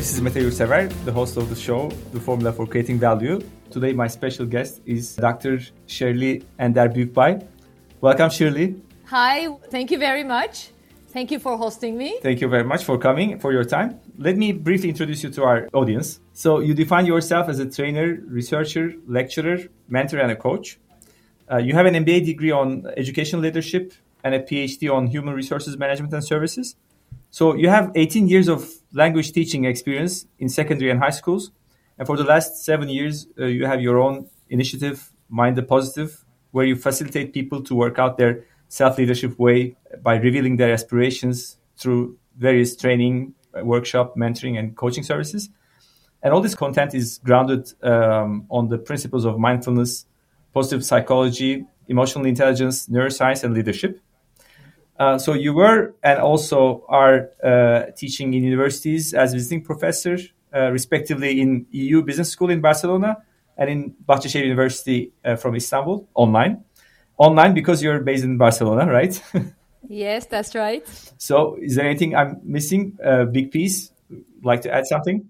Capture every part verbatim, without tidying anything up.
This is Mete Yurtsever, the host of the show, The Formula for Creating Value. Today, my special guest is Doctor Shirley Ender Büyükbay. Welcome, Shirley. Hi, thank you very much. Thank you for hosting me. Thank you very much for coming, for your time. Let me briefly introduce you to our audience. So you define yourself as a trainer, researcher, lecturer, mentor, and a coach. Uh, you have an M B A degree on education leadership and a P H D on human resources management and services. So you have eighteen years of language teaching experience in secondary and high schools. And for the last seven years, uh, you have your own initiative, Mind the Positive, where you facilitate people to work out their self-leadership way by revealing their aspirations through various training, workshop, mentoring, and coaching services. And all this content is grounded um, on the principles of mindfulness, positive psychology, emotional intelligence, neuroscience, and leadership. Uh, so you were and also are uh, teaching in universities as visiting professor, uh, respectively in E U Business School in Barcelona and in Bahçeşehir University uh, from Istanbul, online. Online because you're based in Barcelona, right? Yes, that's right. So is there anything I'm missing? A uh, big piece? Like to add something?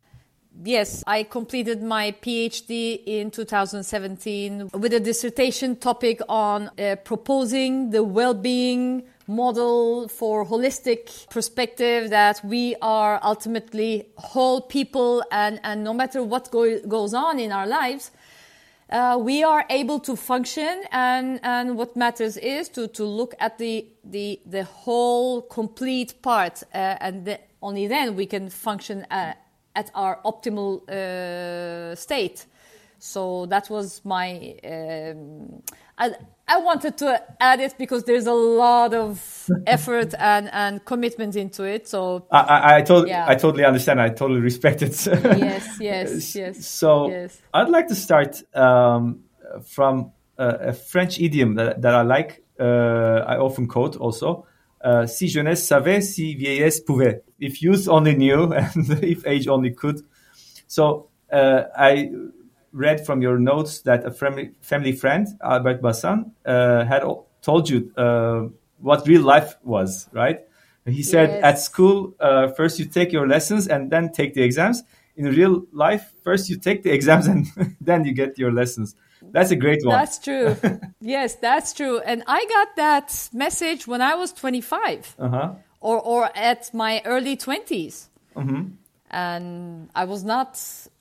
Yes, I completed my P H D in two thousand seventeen with a dissertation topic on uh, proposing the well-being model for holistic perspective, that we are ultimately whole people, and, and no matter what go, goes on in our lives, uh, we are able to function, and, and what matters is to, to look at the, the, the whole complete part, uh, and the, only then we can function uh, at our optimal uh, state. So that was my... Um, I, I wanted to add it because there's a lot of effort and, and commitment into it. So I, I, I, totally, yeah. I totally understand. I totally respect it. Yes, yes, yes. So yes. I'd like to start um, from uh, a French idiom that, that I like. Uh, I often quote also. Uh, si jeunesse savait, si vieillesse pouvait. If youth only knew and if age only could. So uh, I read from your notes that a family, family friend, Albert Bassan, uh, had told you uh, what real life was, right? He said yes. at school, uh, first you take your lessons and then take the exams. In real life, first you take the exams and then you get your lessons. That's a great one. That's true. Yes, that's true. And I got that message when I was twenty-five uh-huh. or, or at my early twenties. Mm-hmm. And I was not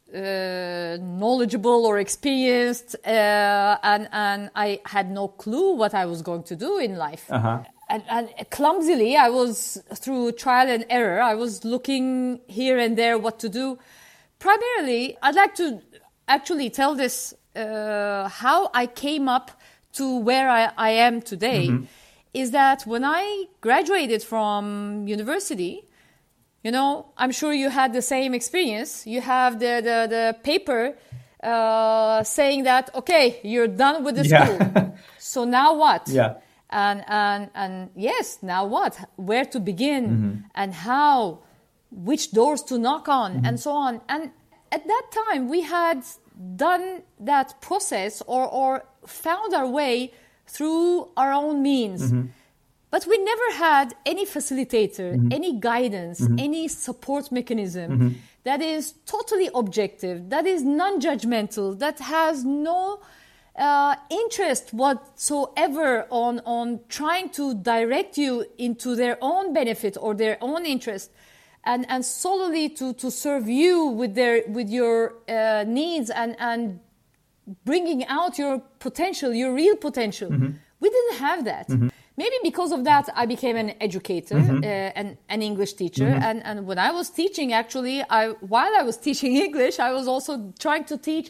uh, knowledgeable or experienced, uh, and, and I had no clue what I was going to do in life. Uh-huh. And, and clumsily, I was, through trial and error, I was looking here and there what to do. Primarily, I'd like to actually tell this, uh, how I came up to where I, I am today, mm-hmm. is that when I graduated from university, you know, I'm sure you had the same experience. You have the, the, the paper uh, saying that, okay, you're done with the yeah. school. So now what? Yeah. And, and, and yes, now what? Where to begin, mm-hmm. and how, which doors to knock on, mm-hmm. and so on. And at that time, we had done that process or, or found our way through our own means. Mm-hmm. But we never had any facilitator, mm-hmm. any guidance, mm-hmm. any support mechanism mm-hmm. that is totally objective, that is non-judgmental, that has no uh, interest whatsoever on, on trying to direct you into their own benefit or their own interest, and, and solely to, to serve you with their with your uh, needs and, and bringing out your potential, your real potential. Mm-hmm. We didn't have that. Mm-hmm. Maybe because of that, I became an educator, mm-hmm. uh, and an English teacher. Mm-hmm. And, and when I was teaching, actually, I while I was teaching English, I was also trying to teach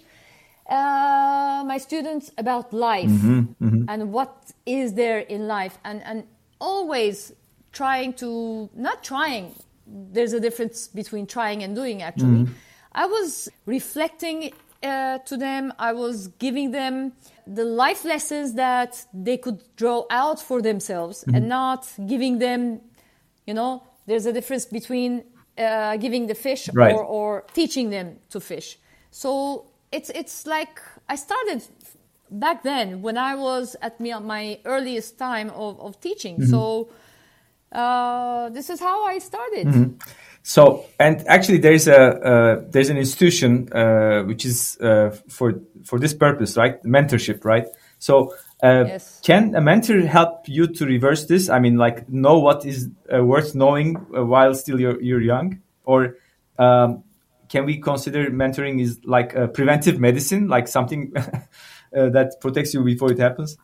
uh, my students about life mm-hmm. Mm-hmm. and what is there in life. And, and always trying to, not trying, there's a difference between trying and doing, actually. Mm-hmm. I was reflecting uh, to them. I was giving them the life lessons that they could draw out for themselves, mm-hmm. and not giving them, you know, there's a difference between uh, giving the fish right. or, or teaching them to fish. So it's it's like I started back then when I was at me, my earliest time of, of teaching. Mm-hmm. So uh, this is how I started. Mm-hmm. So, and actually, there's a uh, there's an institution uh, which is uh, for for this purpose, right? Mentorship, right? So, uh, Yes. can a mentor help you to reverse this? I mean, like, know what is uh, worth knowing uh, while still you're you're young, or um, can we consider mentoring is like a preventive medicine, like something uh, that protects you before it happens?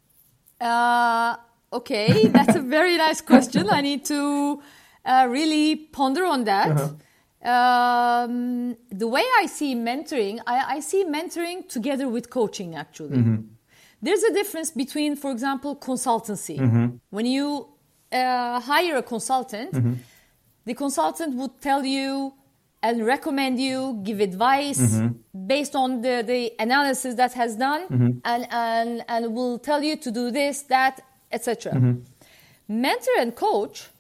Uh, okay, that's a very nice question. I need to uh, really ponder on that. Uh-huh. Um, the way I see mentoring, I, I see mentoring together with coaching, actually. Mm-hmm. There's a difference between, for example, consultancy. Mm-hmm. When you uh, hire a consultant, Mm-hmm. the consultant would tell you and recommend you, give advice Mm-hmm. based on the, the analysis that has done, Mm-hmm. and, and, and will tell you to do this, that, et cetera. Mm-hmm. Mentor and coach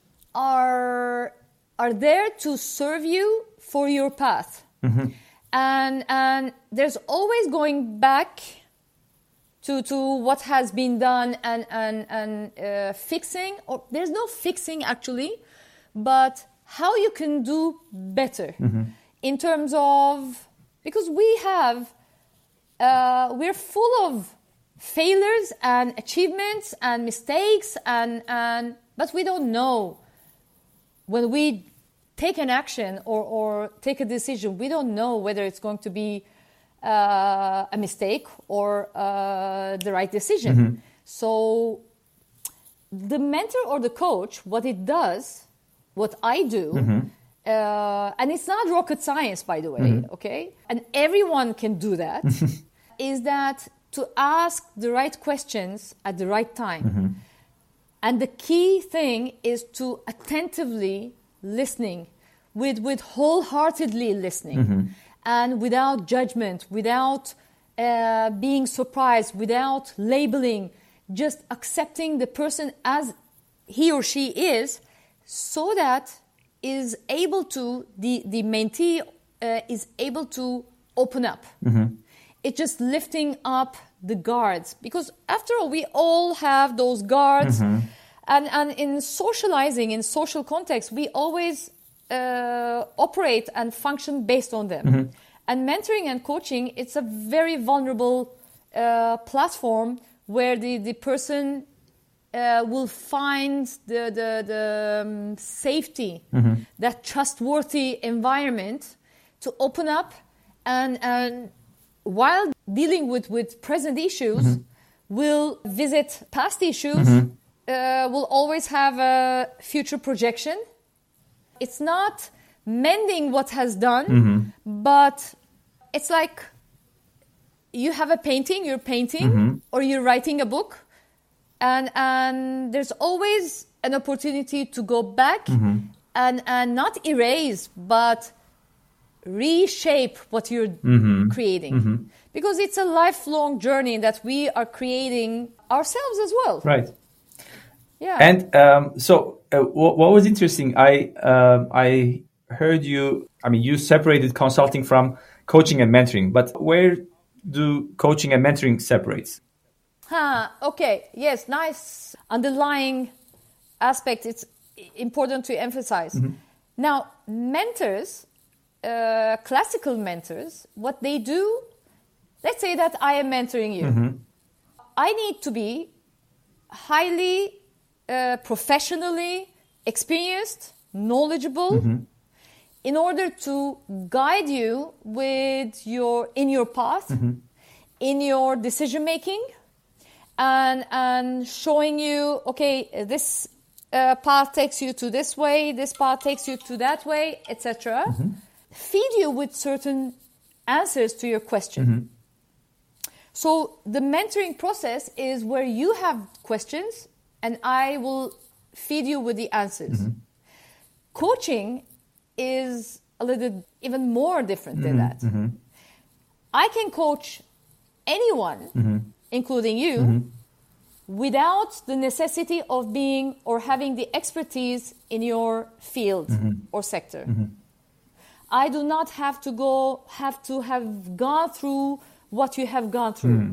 are, are there to serve you for your path. Mm-hmm. And, and there's always going back to, to what has been done and, and, and uh, fixing, or there's no fixing actually, but how you can do better Mm-hmm. in terms of, because we have, uh, we're full of failures and achievements and mistakes, and, and but we don't know when we take an action or, or take a decision, we don't know whether it's going to be uh, a mistake or uh, the right decision. Mm-hmm. So the mentor or the coach, what it does, what I do, Mm-hmm. uh, and it's not rocket science, by the way, Mm-hmm. okay? And everyone can do that, is that to ask the right questions at the right time. Mm-hmm. And the key thing is to attentively listening, with, with wholeheartedly listening, Mm-hmm. and without judgment, without uh, being surprised, without labeling, just accepting the person as he or she is, so that is able to, the, the mentee uh, is able to open up. Mm-hmm. It's just lifting up the guards, because after all, we all have those guards. Mm-hmm. And, and in socializing, in social context, we always uh, operate and function based on them. Mm-hmm. And mentoring and coaching, it's a very vulnerable uh, platform where the, the person uh, will find the, the, the um, safety, Mm-hmm. that trustworthy environment to open up, and, and while dealing with, with present issues, Mm-hmm. will visit past issues, Mm-hmm. uh, will always have a future projection. It's not mending what has done, Mm-hmm. but it's like you have a painting, you're painting, Mm-hmm. or you're writing a book, and and there's always an opportunity to go back Mm-hmm. and and not erase, but reshape what you're Mm-hmm. creating, Mm-hmm. because it's a lifelong journey that we are creating ourselves as well. Right. Yeah. And um, so, uh, what, what was interesting, I um, I heard you. I mean, you separated consulting from coaching and mentoring, but where do coaching and mentoring separates? Huh, okay, yes, nice underlying aspect. It's important to emphasize. Mm-hmm. Now, mentors, uh, classical mentors, what they do, let's say that I am mentoring you. Mm-hmm. I need to be highly uh, professionally experienced, knowledgeable, Mm-hmm. in order to guide you with your in your path, Mm-hmm. in your decision making, and and showing you, okay, this uh, path takes you to this way, this path takes you to that way, et cetera. Mm-hmm. Feed you with certain answers to your question. Mm-hmm. So the mentoring process is where you have questions and I will feed you with the answers. Mm-hmm. Coaching is a little even more different than Mm-hmm. that. Mm-hmm. I can coach anyone, Mm-hmm. including you, Mm-hmm. without the necessity of being or having the expertise in your field Mm-hmm. or sector. Mm-hmm. I do not have to go, have to have gone through what you have gone through. Mm-hmm.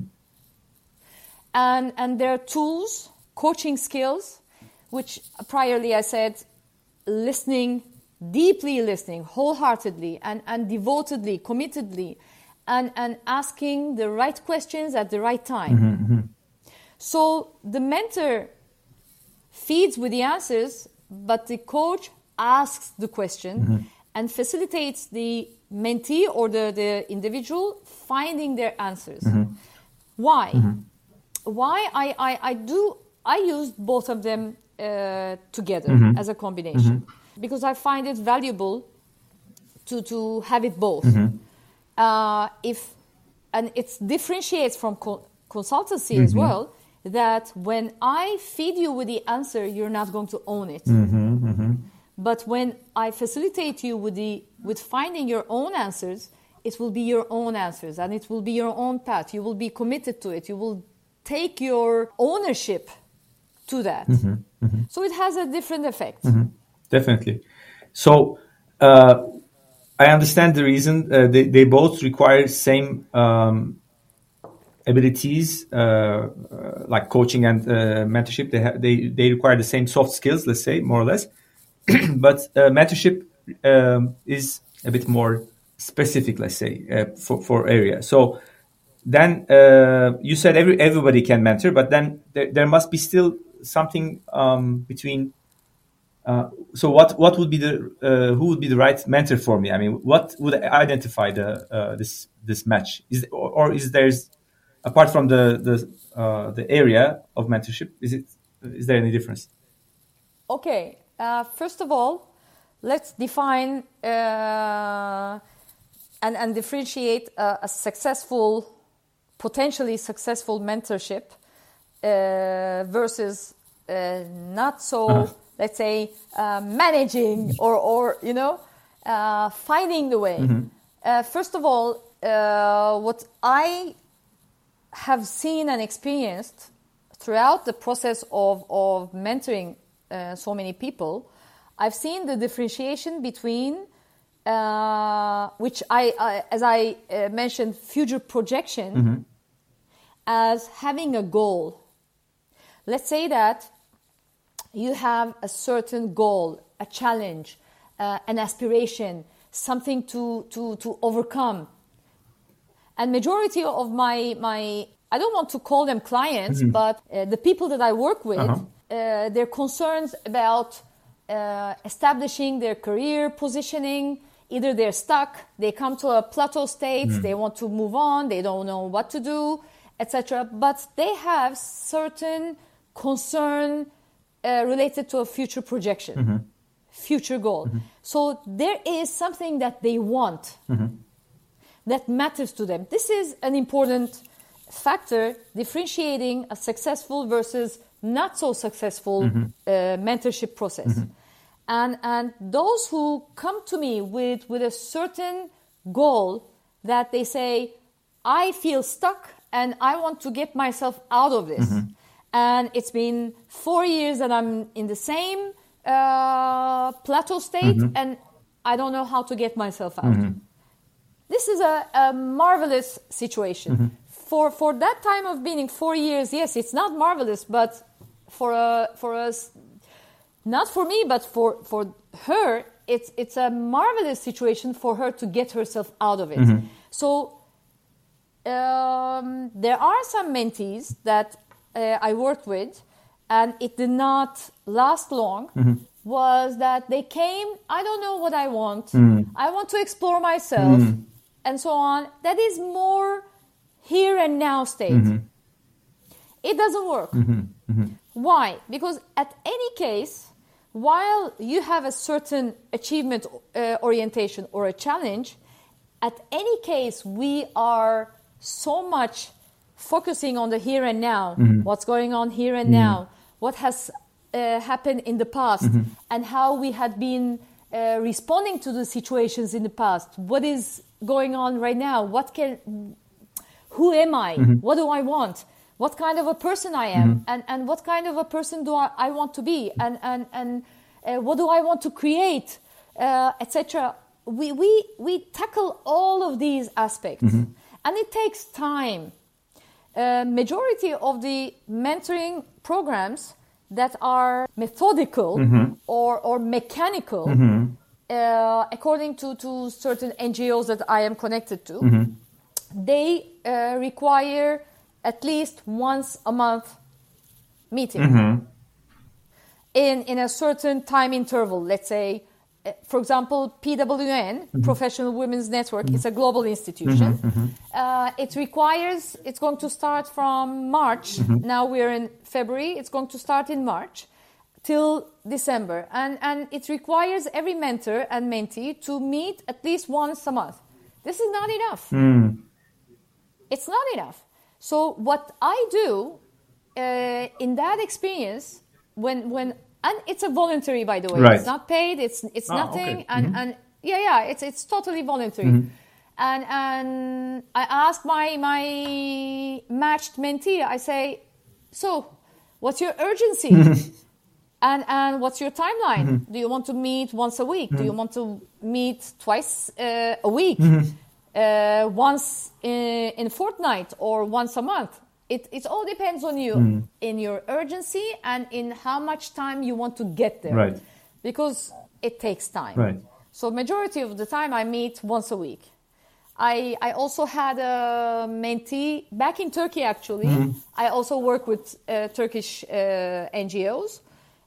And, and there are tools, coaching skills, which priorly I said, listening deeply listening, wholeheartedly and, and devotedly, committedly, and, and asking the right questions at the right time. Mm-hmm, mm-hmm. So the mentor feeds with the answers, but the coach asks the question mm-hmm. and facilitates the mentee or the, the individual finding their answers. Mm-hmm. Why? Mm-hmm. Why I, I, I do I use both of them uh, together mm-hmm. as a combination mm-hmm. because I find it valuable to to have it both. Mm-hmm. Uh, if and it differentiates from co- consultancy mm-hmm. as well. That when I feed you with the answer, you're not going to own it. Mm-hmm. Mm-hmm. But when I facilitate you with the with finding your own answers, it will be your own answers and it will be your own path. You will be committed to it. You will take your ownership to that. Mm-hmm. Mm-hmm. So it has a different effect. Mm-hmm. Definitely. So uh, I understand the reason. Uh, they, they both require same um, abilities, uh, uh, like coaching and uh, mentorship. They, ha- they they require the same soft skills, let's say, more or less. But uh, mentorship um, is a bit more specific, let's say, uh, for for area. So then uh, you said every everybody can mentor, but then there, there must be still something um, between. Uh, so what what would be the uh, who would be the right mentor for me? I mean, what would identify the uh, this this match? Is or, or is there's apart from the the uh, the area of mentorship, is it is there any difference? Okay. Uh, first of all, let's define uh, and and differentiate a, a successful, potentially successful mentorship uh, versus uh, not so. Uh-huh. Let's say uh, managing or, or you know, uh, finding the way. Mm-hmm. Uh, first of all, uh, what I have seen and experienced throughout the process of, of mentoring uh, so many people, I've seen the differentiation between, uh, which I, I as I uh, mentioned, future projection mm-hmm. as having a goal. Let's say that you have a certain goal, a challenge, uh, an aspiration, something to, to, to overcome. And majority of my, my, I don't want to call them clients, mm-hmm. but uh, the people that I work with, uh-huh. uh, they're concerned about uh, establishing their career positioning. Either they're stuck, they come to a plateau state, mm-hmm. they want to move on, they don't know what to do, et cetera. But they have certain concern Uh, related to a future projection, mm-hmm. future goal. Mm-hmm. So there is something that they want mm-hmm. that matters to them. This is an important factor differentiating a successful versus not so successful mm-hmm. uh, mentorship process. Mm-hmm. And and those who come to me with, with a certain goal that they say, I feel stuck and I want to get myself out of this. Mm-hmm. And it's been four years that I'm in the same uh, plateau state, mm-hmm. and I don't know how to get myself out. Mm-hmm. This is a, a marvelous situation. Mm-hmm. For for that time of being four years, yes, it's not marvelous, but for a, for us, not for me, but for, for her, it's it's a marvelous situation for her to get herself out of it. Mm-hmm. So um, there are some mentees that Uh, I worked with, and it did not last long, mm-hmm. was that they came, I don't know what I want, mm. I want to explore myself, mm. and so on. That is more here and now state. Mm-hmm. It doesn't work. Mm-hmm. Mm-hmm. Why? Because at any case, while you have a certain achievement uh, orientation or a challenge, at any case, we are so much focusing on the here and now, mm-hmm. what's going on here and mm-hmm. now, what has uh, happened in the past, mm-hmm. and how we had been uh, responding to the situations in the past. What is going on right now? What can, who am I? Mm-hmm. What do I want? What kind of a person I am, mm-hmm. and and what kind of a person do I, I want to be, and and and uh, what do I want to create, uh, et cetera. We we we tackle all of these aspects, mm-hmm. and it takes time. Uh, majority of the mentoring programs that are methodical mm-hmm. or, or mechanical, mm-hmm. uh, according to, to certain N G Os that I am connected to, mm-hmm. they uh, require at least once a month meeting mm-hmm. in, in a certain time interval. Let's say, uh, for example, P W N, mm-hmm. Professional Women's Network, mm-hmm. is a global institution. Mm-hmm. Mm-hmm. Uh, it requires, it's going to start from March. Mm-hmm. Now we're in February. It's going to start in March till December. And, and it requires every mentor and mentee to meet at least once a month. This is not enough. Mm. It's not enough. So what I do uh, in that experience, when when and it's a voluntary, by the way, right. It's not paid. It's it's oh, nothing, okay. and mm-hmm. and yeah, yeah, it's it's totally voluntary. Mm-hmm. And and I ask my my matched mentee. I say, so, what's your urgency? And and what's your timeline? Mm-hmm. Do you want to meet once a week? Mm-hmm. Do you want to meet twice uh, a week? Mm-hmm. Uh, once in, in a fortnight or once a month? It it all depends on you, mm. in your urgency and in how much time you want to get there. Right. Because it takes time. Right. So majority of the time I meet once a week. I I also had a mentee back in Turkey actually. Mm. I also work with uh, Turkish uh, N G Os.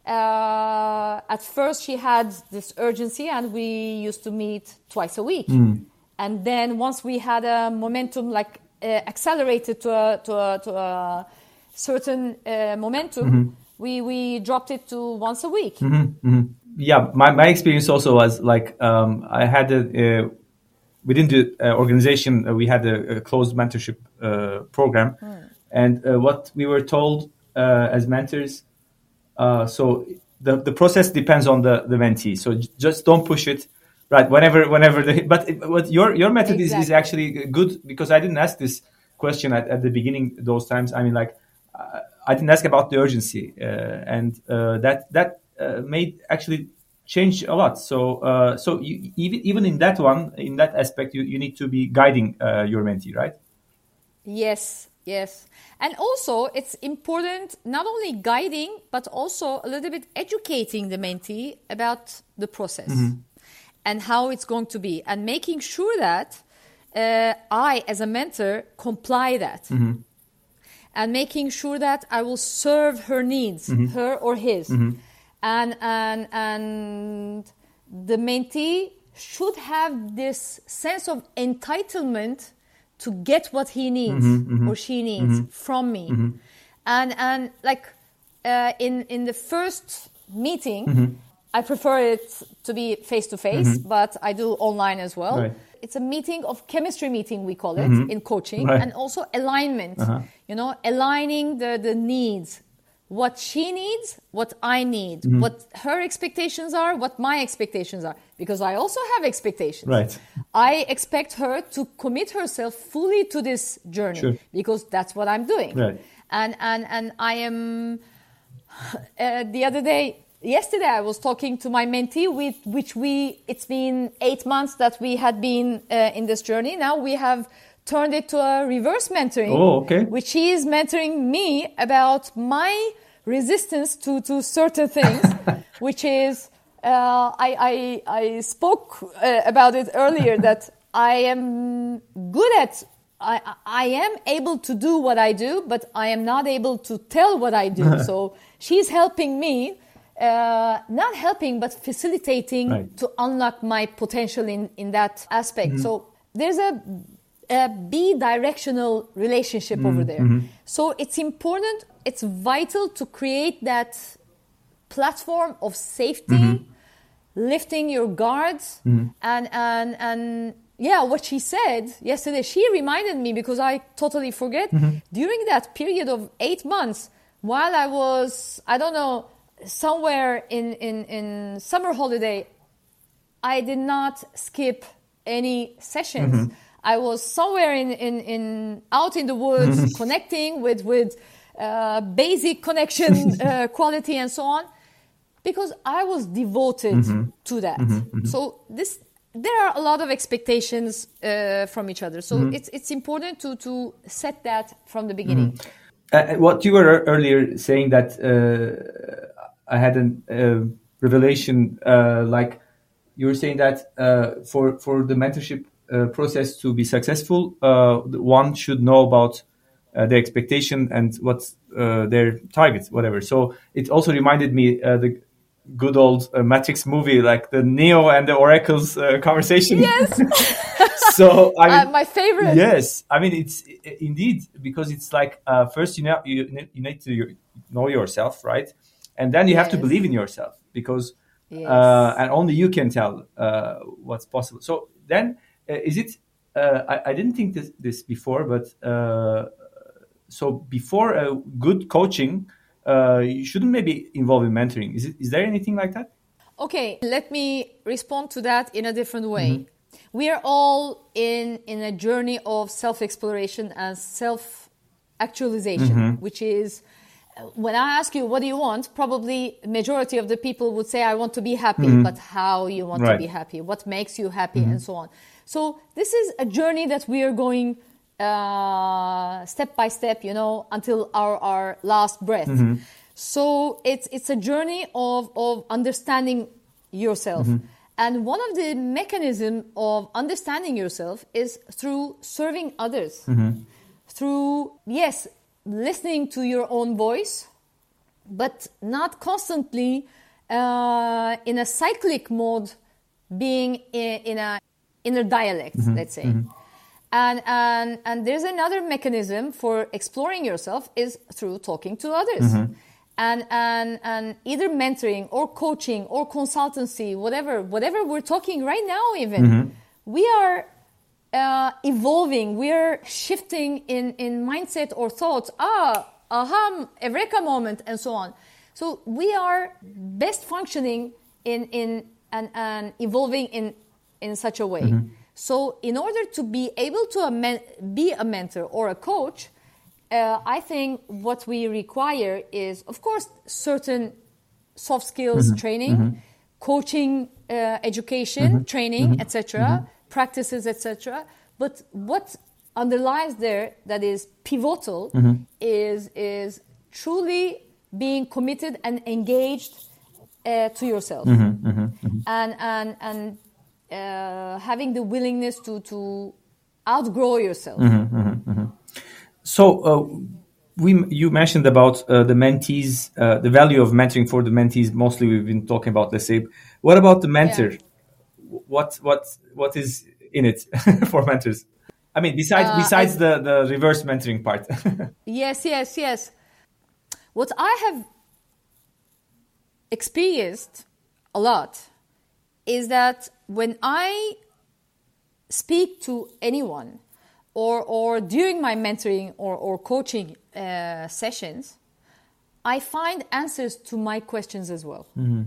Uh, at first she had this urgency and we used to meet twice a week. Mm. And then once we had a momentum, like uh, accelerated to a, to a, to a certain uh, momentum, mm-hmm. we, we dropped it to once a week. Mm-hmm. Mm-hmm. Yeah, my, my experience also was like um, I had a, uh, within the uh, organization, uh, we had a, a closed mentorship uh, program. Mm. And uh, what we were told uh, as mentors, uh, so the, the process depends on the, the mentee. So j- just don't push it. Right. Whenever, whenever the but what your your method exactly. is, is actually good, because I didn't ask this question at, at the beginning. Those times, I mean, like uh, I didn't ask about the urgency, uh, and uh, that that uh, made actually change a lot. So uh, so you, even even in that one, in that aspect, you, you need to be guiding uh, your mentee, right? Yes. Yes. And also it's important not only guiding but also a little bit educating the mentee about the process. Mm-hmm. And how it's going to be, and making sure that uh, I, as a mentor, comply that, mm-hmm. and making sure that I will serve her needs, mm-hmm. her or his, mm-hmm. and and and the mentee should have this sense of entitlement to get what he needs mm-hmm. Mm-hmm. or she needs mm-hmm. from me, mm-hmm. and and like uh, in in the first meeting. Mm-hmm. I prefer it to be face-to-face, mm-hmm. but I do online as well. Right. It's a meeting of chemistry meeting, we call it, mm-hmm. in coaching, right. and also alignment, uh-huh. you know, aligning the, the needs, what she needs, what I need, mm-hmm. what her expectations are, what my expectations are, because I also have expectations. Right. I expect her to commit herself fully to this journey, sure. because that's what I'm doing. Right. And, and, and I am, uh, the other day, Yesterday, I was talking to my mentee, with which we, it's been eight months that we had been uh, in this journey. Now we have turned it to a reverse mentoring, oh, okay. which she is mentoring me about my resistance to, to certain things, which is, uh, I, I, I spoke uh, about it earlier, that I am good at, I, I am able to do what I do, but I am not able to tell what I do. So she's helping me. Uh, not helping, but facilitating right. to unlock my potential in, in that aspect. Mm-hmm. So there's a, a bi-directional relationship mm-hmm. over there. Mm-hmm. So it's important, it's vital to create that platform of safety, mm-hmm. lifting your guards, mm-hmm. and, and, and yeah, what she said yesterday, she reminded me, because I totally forget, mm-hmm. during that period of eight months, while I was, I don't know, somewhere in, in, in summer holiday, I did not skip any sessions. Mm-hmm. I was somewhere in, in, in out in the woods, mm-hmm. connecting with, with uh, basic connection uh, quality and so on, because I was devoted mm-hmm. to that. Mm-hmm. Mm-hmm. So this, there are a lot of expectations uh, from each other. So mm-hmm. it's, it's important to, to set that from the beginning. Mm-hmm. Uh, what you were earlier saying that uh, I had a uh, revelation, uh, like you're saying that uh, for for the mentorship uh, process to be successful, uh, one should know about uh, their expectation and what's uh, their targets, whatever. So it also reminded me uh, the good old uh, Matrix movie, like the Neo and the Oracle's uh, conversation. Yes. So I mean, uh, my favorite. Yes, I mean it's indeed, because it's like uh, first you know you, you need to know yourself, right, and then you have Yes. to believe in yourself, because Yes. uh, and only you can tell uh, what's possible. So then uh, is it? Uh, I, I didn't think this, this before, but uh, so before a good coaching, uh, you shouldn't maybe involve in mentoring. Is it? Is there anything like that? Okay, let me respond to that in a different way. Mm-hmm. We are all in, in a journey of self-exploration and self-actualization, Mm-hmm. which is, when I ask you, what do you want? Probably majority of the people would say, I want to be happy, Mm-hmm. but how you want Right. to be happy? What makes you happy? Mm-hmm. And so on. So this is a journey that we are going uh, step by step, you know, until our, our last breath. Mm-hmm. So it's it's a journey of, of understanding yourself. Mm-hmm. And one of the mechanisms of understanding yourself is through serving others. Mm-hmm. Through, yes, listening to your own voice, but not constantly uh, in a cyclic mode, being in, in a inner dialect, Mm-hmm. let's say. Mm-hmm. And, and, and there's another mechanism for exploring yourself is through talking to others. Mm-hmm. And, and, and either mentoring or coaching or consultancy, whatever, whatever we're talking right now even, Mm-hmm. we are uh, evolving, we are shifting in, in mindset or thoughts, ah, aha, eureka moment, and so on. So we are best functioning in, in and, and evolving in, in such a way. Mm-hmm. So in order to be able to a men- be a mentor or a coach, Uh, I think what we require is, of course, certain soft skills Mm-hmm. training, Mm-hmm. coaching, uh, education, Mm-hmm. training, Mm-hmm. et cetera, practices, et cetera. But what underlies there that is pivotal Mm-hmm. is is truly being committed and engaged uh, to yourself, Mm-hmm. Mm-hmm. and and and uh, having the willingness to to outgrow yourself. Mm-hmm. Mm-hmm. So uh, we you mentioned about uh, the mentees, uh, the value of mentoring for the mentees. Mostly, we've been talking about Nasib. What about the mentor? Yeah. What what what is in it for mentors? I mean, besides Uh, besides I- the, the reverse mentoring part. Yes, yes, yes. What I have experienced a lot is that when I speak to anyone or, or during my mentoring or, or coaching uh, sessions, I find answers to my questions as well. Mm-hmm.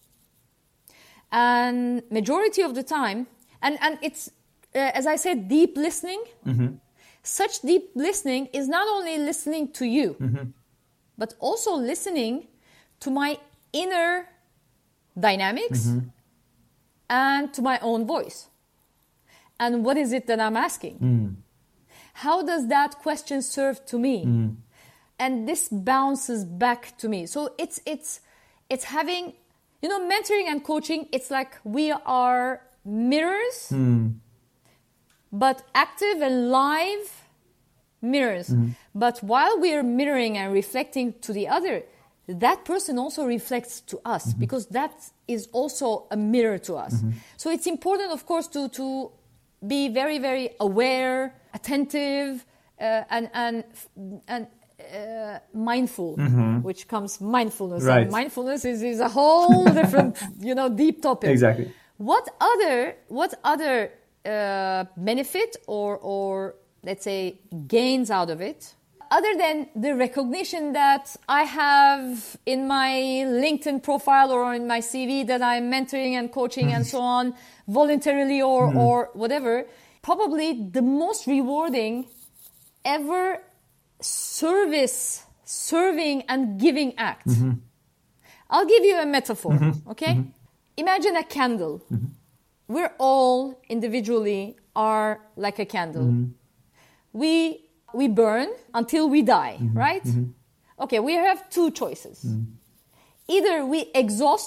And majority of the time, and, and it's, uh, as I said, deep listening. Mm-hmm. Such deep listening is not only listening to you, Mm-hmm. but also listening to my inner dynamics Mm-hmm. and to my own voice. And what is it that I'm asking? Mm. How does that question serve to me? Mm. And this bounces back to me. So it's it's it's having, you know, mentoring and coaching, it's like we are mirrors, Mm. but active and live mirrors. Mm-hmm. But while we are mirroring and reflecting to the other, that person also reflects to us, Mm-hmm. because that is also a mirror to us. Mm-hmm. So it's important, of course, to, to be very, very aware, attentive, uh, and, and, and uh, mindful, Mm-hmm. which comes mindfulness. Right. And mindfulness is, is a whole different, you know, deep topic. Exactly. What other what other uh, benefit or or let's say gains out of it, other than the recognition that I have in my LinkedIn profile or in my C V that I'm mentoring and coaching and so on, voluntarily or Mm-hmm. or whatever? Probably the most rewarding ever service, serving and giving act. Mm-hmm. I'll give you a metaphor, Mm-hmm. okay? Mm-hmm. Imagine a candle. Mm-hmm. We're all individually are like a candle. Mm-hmm. We we burn until we die, mm-hmm. right? Mm-hmm. Okay, we have two choices. Mm-hmm. Either we exhaust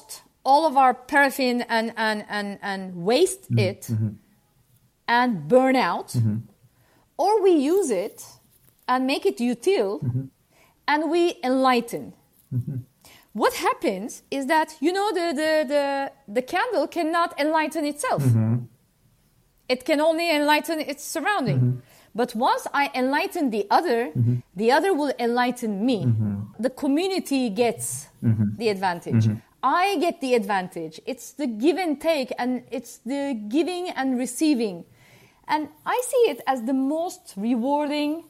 all of our paraffin and, and, and, and waste mm-hmm. it mm-hmm. and burn out, mm-hmm. or we use it and make it util mm-hmm. and we enlighten. Mm-hmm. What happens is that, you know, the, the, the, the candle cannot enlighten itself. Mm-hmm. It can only enlighten its surrounding. Mm-hmm. But once I enlighten the other, mm-hmm. the other will enlighten me. Mm-hmm. The community gets mm-hmm. the advantage. Mm-hmm. I get the advantage. It's the give and take, and it's the giving and receiving. And I see it as the most rewarding.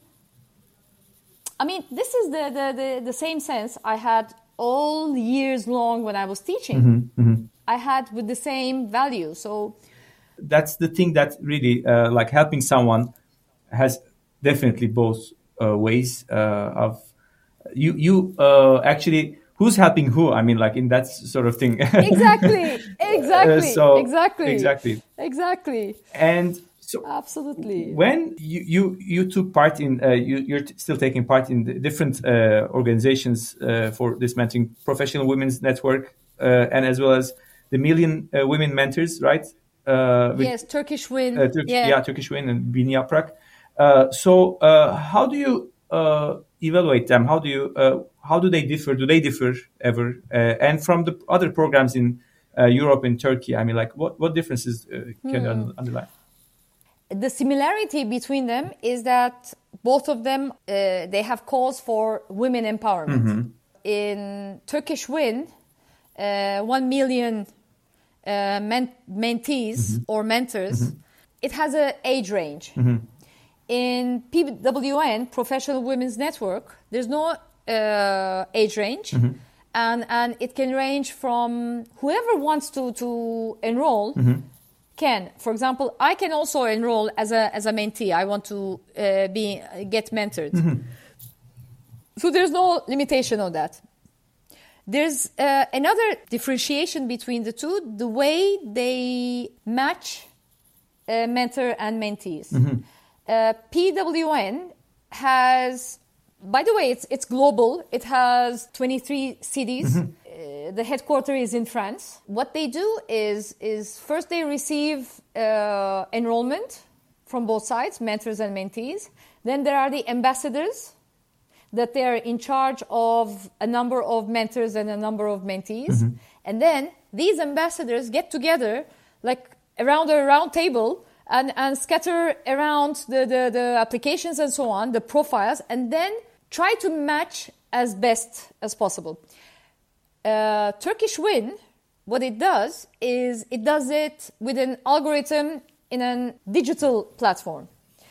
I mean, this is the, the, the, the same sense I had all years long when I was teaching. Mm-hmm. Mm-hmm. I had with the same value. So that's the thing that really, uh, like helping someone has definitely both uh, ways uh, of you. You uh, actually, who's helping who? I mean, like in that sort of thing. Exactly. Exactly. uh, so, exactly. Exactly. Exactly. And so, absolutely. When you you, you took part in, uh, you, you're t- still taking part in the different uh, organizations uh, for this mentoring, Professional Women's Network, uh, and as well as the Million uh, Women Mentors, right? Uh, with, yes, Turkish Win. Uh, Tur- yeah. yeah, Turkish Win and Bini Yaprak. Uh, so, uh, how do you uh, evaluate them? How do you uh, how do they differ? Do they differ ever? Uh, and from the other programs in uh, Europe and Turkey, I mean, like what what differences uh, can hmm. un- underline? The similarity between them is that both of them uh, they have calls for women empowerment. Mm-hmm. In Turkish Win, uh, one million uh, men- mentees mm-hmm. or mentors. Mm-hmm. It has an age range. Mm-hmm. In P W N, Professional Women's Network, there's no uh, age range, mm-hmm. and and it can range from whoever wants to to enroll mm-hmm. can. For example, I can also enroll as a as a mentee. I want to uh, be get mentored. Mm-hmm. So there's no limitation on that. There's uh, another differentiation between the two: the way they match uh, mentor and mentees. Mm-hmm. Uh, P W N has, by the way, it's it's global. It has twenty-three cities. Mm-hmm. Uh, the headquarters is in France. What they do is is first they receive uh, enrollment from both sides, mentors and mentees. Then there are the ambassadors that they are in charge of a number of mentors and a number of mentees. Mm-hmm. And then these ambassadors get together like around a round table and, and scatter around the, the, the applications and so on, the profiles, and then try to match as best as possible. Uh, Turkish Win, what it does is it does it with an algorithm in a digital platform.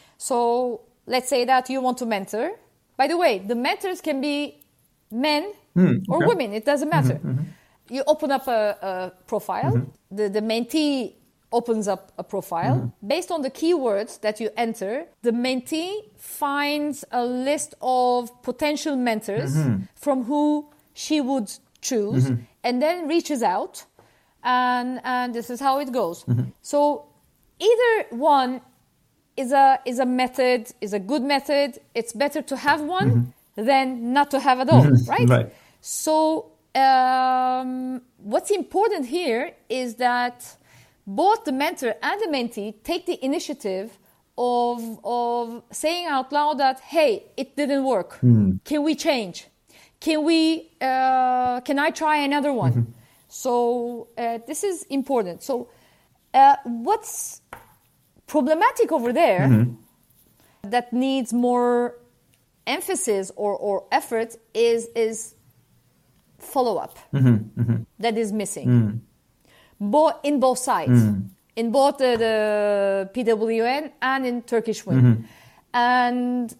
So let's say that you want to mentor. By the way, the mentors can be men mm, okay. or women. It doesn't matter. Mm-hmm, mm-hmm. You open up a, a profile. Mm-hmm. The, the mentee opens up a profile. Mm-hmm. Based on the keywords that you enter, the mentee finds a list of potential mentors mm-hmm. from who she would choose mm-hmm. and then reaches out. And, and this is how it goes. Mm-hmm. So either one is a is a method, is a good method. It's better to have one mm-hmm. than not to have at all, mm-hmm. right? Right. So um, what's important here is that both the mentor and the mentee take the initiative of of saying out loud that, hey, it didn't work. Mm. Can we change? Can we? Uh, can I try another one? Mm-hmm. So uh, this is important. So uh, what's problematic over there mm-hmm. that needs more emphasis or, or effort is is follow-up mm-hmm. Mm-hmm. that is missing mm. Bo- in both sides mm. in both the, the P W N and in Turkish Win mm-hmm. and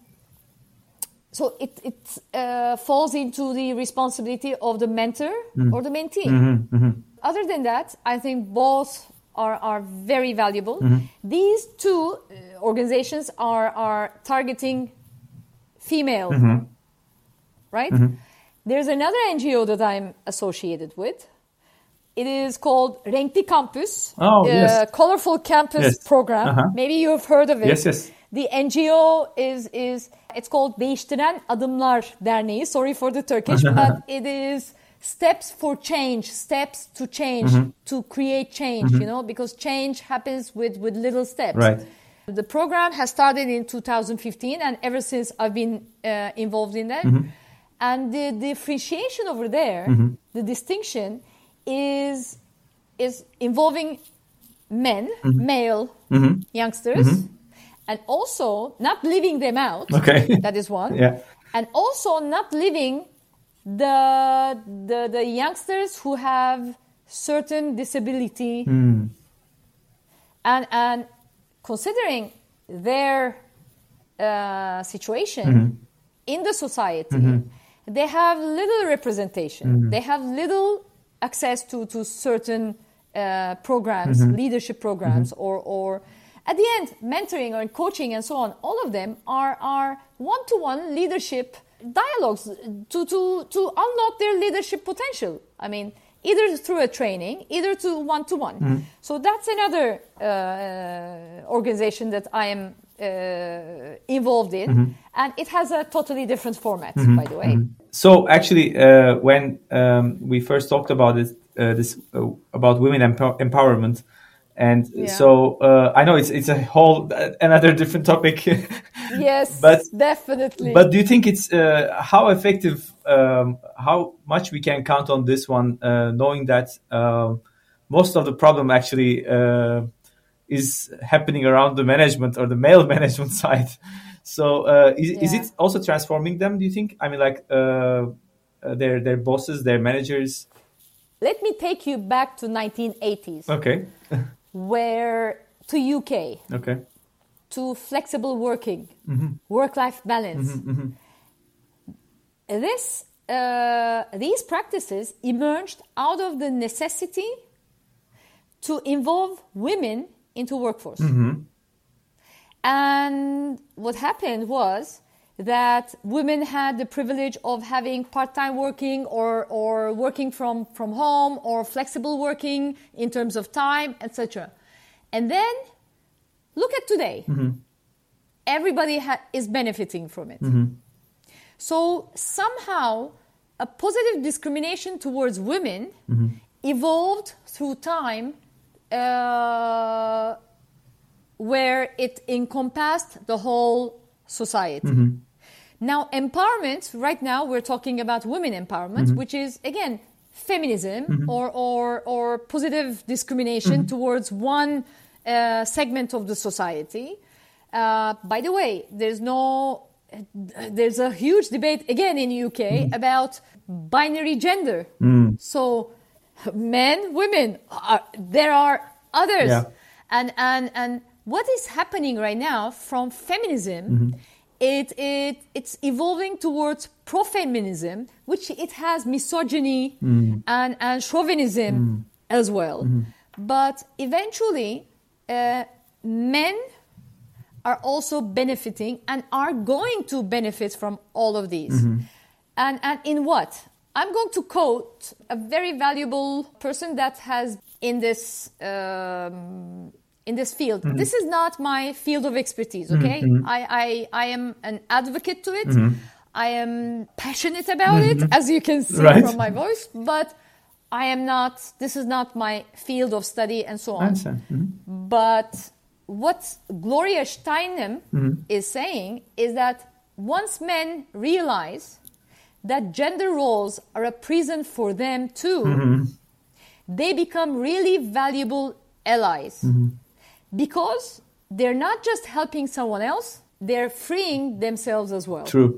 so it, it uh, falls into the responsibility of the mentor mm. or the mentee. Mm-hmm. Mm-hmm. Other than that, I think both Are, are very valuable. Mm-hmm. These two uh, organizations are, are targeting female, mm-hmm. right? Mm-hmm. There's another N G O that I'm associated with. It is called Renkli Campus, oh, uh, yes. Colorful Campus yes. Program. Uh-huh. Maybe you've heard of it. Yes, yes. The N G O is, is it's called Değiştiren Adımlar Derneği. Sorry for the Turkish, but it is steps for change, steps to change, mm-hmm. to create change, mm-hmm. you know, because change happens with, with little steps. Right. The program has started in two thousand fifteen, and ever since I've been uh, involved in that. Mm-hmm. And the differentiation over there, mm-hmm. the distinction is is involving men, mm-hmm. male mm-hmm. youngsters, mm-hmm. and also not leaving them out. Okay. That is one. Yeah. And also not leaving the the, the youngsters who have certain disability mm. and and considering their uh, situation mm-hmm. in the society, mm-hmm. they have little representation. Mm-hmm. They have little access to, to certain uh, programs, mm-hmm. leadership programs, mm-hmm. or, or at the end, mentoring or coaching and so on. All of them are, are one-to-one leadership dialogues to, to, to unlock their leadership potential. I mean, either through a training, either to one-to-one. Mm-hmm. So that's another uh, organization that I am uh, involved in. Mm-hmm. And it has a totally different format, mm-hmm. by the way. Mm-hmm. So actually, uh, when um, we first talked about it, uh, this uh, about women empower- empowerment, and yeah. so uh, I know it's it's a whole another different topic. Yes, but definitely. But do you think it's uh, how effective, um, how much we can count on this one, uh, knowing that um, most of the problem actually uh, is happening around the management or the male management side? So uh, is, yeah. is it also transforming them, do you think? I mean, like uh, their their bosses, their managers? Let me take you back to nineteen eighties. Okay. Where to U K. Okay. To flexible working, mm-hmm. work-life balance. Mm-hmm, mm-hmm. This, uh, these practices emerged out of the necessity to involve women into workforce. Mm-hmm. And what happened was that women had the privilege of having part-time working or, or working from, from home or flexible working in terms of time, et cetera. And then look at today. Mm-hmm. Everybody ha- is benefiting from it. Mm-hmm. So somehow a positive discrimination towards women mm-hmm. evolved through time uh, where it encompassed the whole society. Mm-hmm. Now, empowerment, right now we're talking about women empowerment, mm-hmm. which is, again, feminism mm-hmm. or, or, or positive discrimination mm-hmm. towards one uh, segment of the society. Uh, by the way, there's no, there's a huge debate, again, in the U K mm-hmm. about binary gender. Mm. So men, women, are, there are others. Yeah. And, and, and what is happening right now from feminism, mm-hmm. it, it, it's evolving towards pro-feminism, which it has misogyny mm. and, and chauvinism mm. as well. Mm-hmm. But eventually, uh, men are also benefiting and are going to benefit from all of these. Mm-hmm. And, and in what? I'm going to quote a very valuable person that has in this um, in this field. Mm-hmm. This is not my field of expertise, okay? Mm-hmm. I, I, I am an advocate to it. Mm-hmm. I am passionate about mm-hmm. it, as you can see right. from my voice, but I am not, this is not my field of study and so on. Mm-hmm. But what Gloria Steinem mm-hmm. is saying is that once men realize that gender roles are a prison for them too, mm-hmm. they become really valuable allies. Mm-hmm. Because they're not just helping someone else, they're freeing themselves as well. True.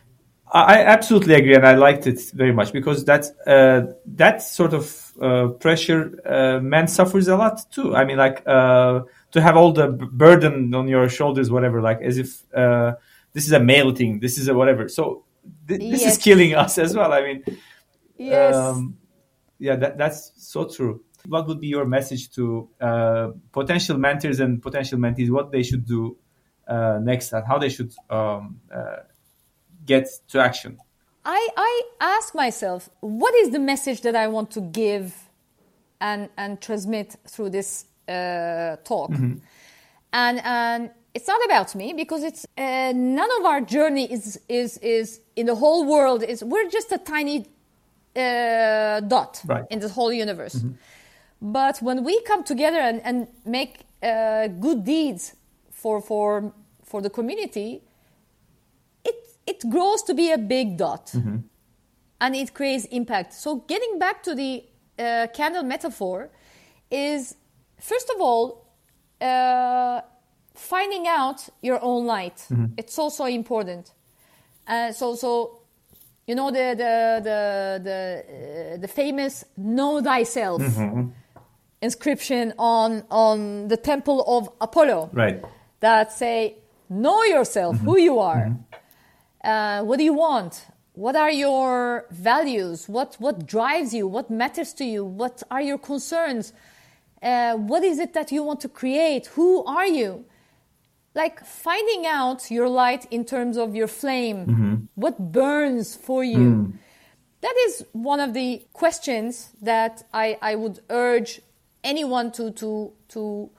I absolutely agree, and I liked it very much because that uh, that sort of uh, pressure, uh, man suffers a lot too. I mean, like uh, to have all the b- burden on your shoulders, whatever, like as if uh, this is a male thing, this is a whatever. So th- this yes. is killing us as well. I mean, yes, um, yeah, that, that's so true. What would be your message to uh, potential mentors and potential mentees, what they should do uh, next and how they should um, uh, get to action? I, I ask myself, what is the message that I want to give and, and transmit through this uh, talk? Mm-hmm. And, and it's not about me because it's uh, none of our journey is, is, is in the whole world. Is we're just a tiny uh, dot right. in this whole universe. Mm-hmm. But when we come together and, and make uh, good deeds for for for the community, it it grows to be a big dot, mm-hmm. and it creates impact. So getting back to the uh, candle metaphor is, first of all, uh, finding out your own light. Mm-hmm. It's also important. Uh, so so, you know the the the the, uh, the famous "Know Thyself" mm-hmm. inscription on on the temple of Apollo, right? That say, know yourself, mm-hmm. who you are, mm-hmm. uh, what do you want, what are your values, what what drives you, what matters to you, what are your concerns, uh, what is it that you want to create, who are you? Like finding out your light in terms of your flame, mm-hmm. what burns for you. Mm. That is one of the questions that I, I would urge anyone to to to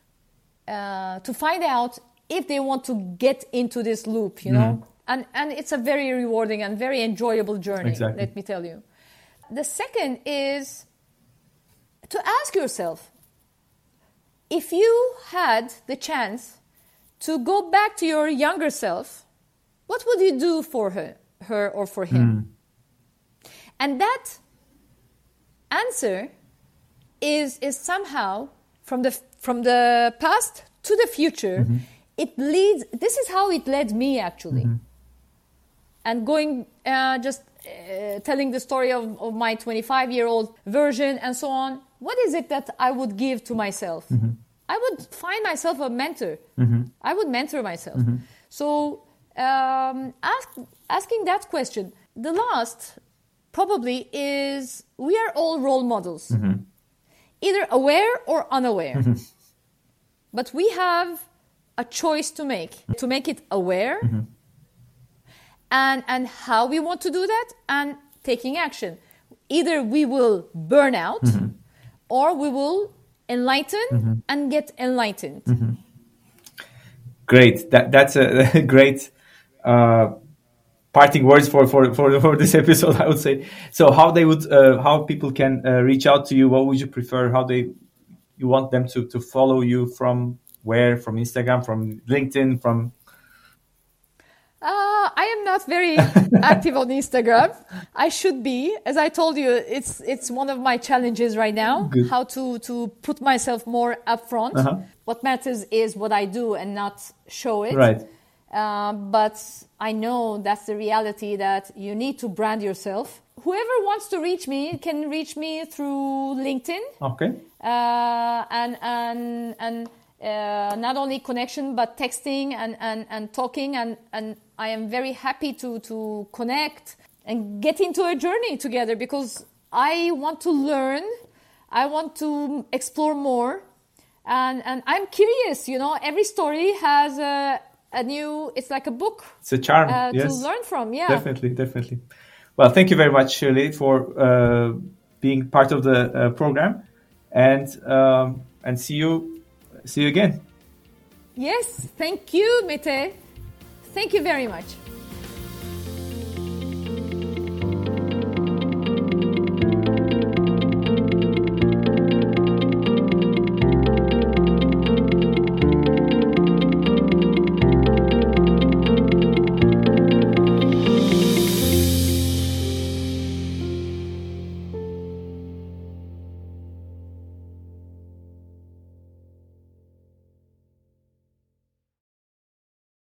uh, to find out if they want to get into this loop, you know. Mm. And and it's a very rewarding and very enjoyable journey, exactly. Let me tell you. The second is to ask yourself, if you had the chance to go back to your younger self, what would you do for her, her or for him? Mm. And that answer is is somehow from the from the past to the future. Mm-hmm. It leads. This is how it led me actually. Mm-hmm. And going uh, just uh, telling the story of, of my twenty-five-year-old version and so on. What is it that I would give to myself? Mm-hmm. I would find myself a mentor. Mm-hmm. I would mentor myself. Mm-hmm. So um, ask, asking that question. The last probably is we are all role models, mm-hmm. either aware or unaware. Mm-hmm. But we have a choice to make, to make it aware, mm-hmm. and, and how we want to do that and taking action. Either we will burn out, mm-hmm. or we will enlighten, mm-hmm. and get enlightened. Mm-hmm. Great. That that's a great uh, parting words for, for, for, for this episode, I would say. So how they would uh, how people can uh, reach out to you? What would you prefer? How they you want them to, to follow you from where? From Instagram, from LinkedIn, from Uh, I am not very active on Instagram. I should be. As I told you, it's it's one of my challenges right now. Good. How to, to put myself more upfront. Uh-huh. What matters is what I do and not show it. Right. Uh, but I know that's the reality, that you need to brand yourself. Whoever wants to reach me can reach me through LinkedIn. Okay. Uh, and and and. Uh, not only connection, but texting and, and, and talking. And, and I am very happy to, to connect and get into a journey together, because I want to learn. I want to explore more. And, and I'm curious, you know, every story has a, a new, it's like a book. It's a charm, uh, yes. To learn from, yeah. Definitely, definitely. Well, thank you very much, Shirley, for uh, being part of the uh, program. And um, and see you See you again. Yes, thank you, Mete. Thank you very much.